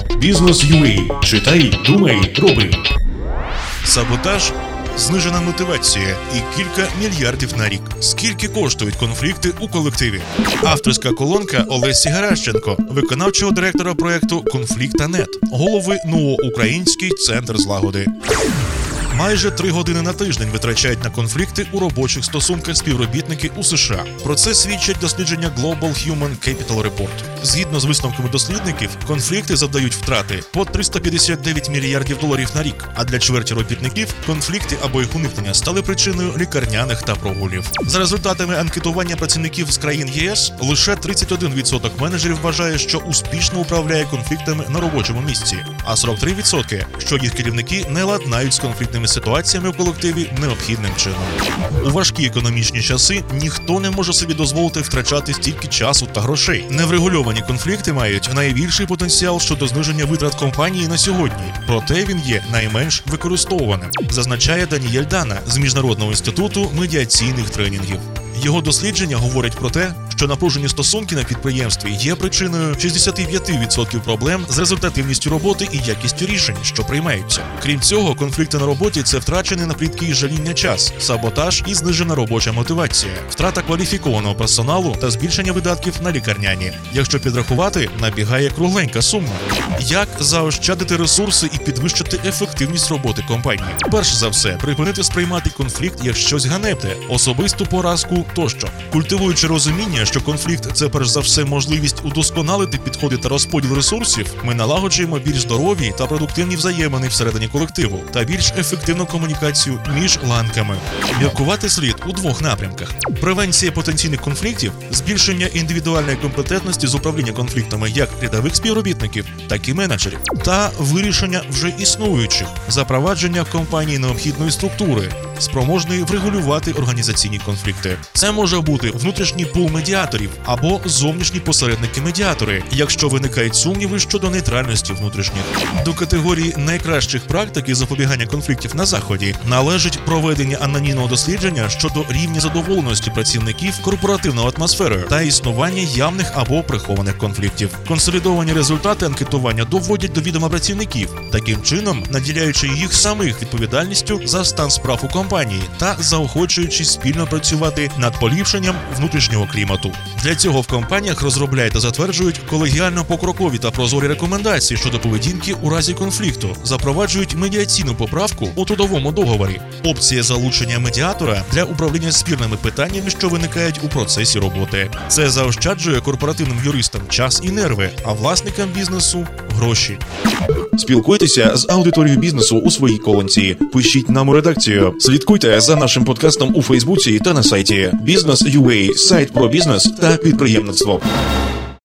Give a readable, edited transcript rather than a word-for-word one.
Бізнес.UA. Читай, думай, роби. Саботаж, знижена мотивація і кілька мільярдів на рік. Скільки коштують конфлікти у колективі? Авторська колонка Олесі Геращенко, виконавчого директора проєкту «Конфлікта.нет», голови НУО «Український центр злагоди». Майже 3 години на тиждень витрачають на конфлікти у робочих стосунках співробітники у США. Про це свідчать дослідження Global Human Capital Report. Згідно з висновками дослідників, конфлікти завдають втрати по $359 мільярдів на рік, а для чверті робітників конфлікти або їх уникнення стали причиною лікарняних та прогулів. За результатами анкетування працівників з країн ЄС, лише 31% менеджерів вважає, що успішно управляє конфліктами на робочому місці, а 43% – що їх керівники не ладнають з конфліктними ситуаціями в колективі необхідним чином. У важкі економічні часи ніхто не може собі дозволити втрачати стільки часу та грошей. Неврегульовані конфлікти мають найбільший потенціал щодо зниження витрат компанії на сьогодні, проте він є найменш використовуваним, зазначає Даніель Дана з Міжнародного інституту медіаційних тренінгів. Його дослідження говорять про те, що напружені стосунки на підприємстві є причиною 65% проблем з результативністю роботи і якістю рішень, що приймаються. Крім цього, конфлікти на роботі – це втрачений на плітки і жаління час, саботаж і знижена робоча мотивація, втрата кваліфікованого персоналу та збільшення видатків на лікарняні. Якщо підрахувати, набігає кругленька сума. Як заощадити ресурси і підвищити ефективність роботи компанії? Перш за все, припинити сприймати конфлікт як щось ганебне, особисту поразку тощо. Культивуючи розуміння, що конфлікт – це перш за все можливість удосконалити підходи та розподіл ресурсів, ми налагоджуємо більш здорові та продуктивні взаємини всередині колективу та більш ефективну комунікацію між ланками. Міркувати слід у 2 напрямках: превенція потенційних конфліктів, збільшення індивідуальної компетентності з управління конфліктами як рядових співробітників, так і менеджерів, та вирішення вже існуючих, запровадження в компанії необхідної структури, спроможної врегулювати організаційні конфлікти. Це може бути внутрішній пул медіаторів або зовнішні посередники-медіатори, якщо виникають сумніви щодо нейтральності внутрішніх. До категорії найкращих практик із запобігання конфліктів на Заході належить проведення анонімного дослідження щодо рівня задоволеності працівників корпоративною атмосферою та існування явних або прихованих конфліктів. Консолідовані результати анкетування доводять до відома працівників, таким чином наділяючи їх самих відповідальністю за стан справ у компанії та заохочуючи спільно працювати над поліпшенням внутрішнього клімату. Для цього в компаніях розробляють та затверджують колегіально-покрокові та прозорі рекомендації щодо поведінки у разі конфлікту, запроваджують медіаційну поправку у трудовому договорі, опція залучення медіатора для управління спірними питаннями, що виникають у процесі роботи. Це заощаджує корпоративним юристам час і нерви, а власникам бізнесу – гроші. Спілкуйтеся з аудиторією бізнесу у своїй колонці. Пишіть нам у редакцію. Слідкуйте за нашим подкастом у Фейсбуці та на сайті. Бізнес.UA – сайт про бізнес та підприємництво.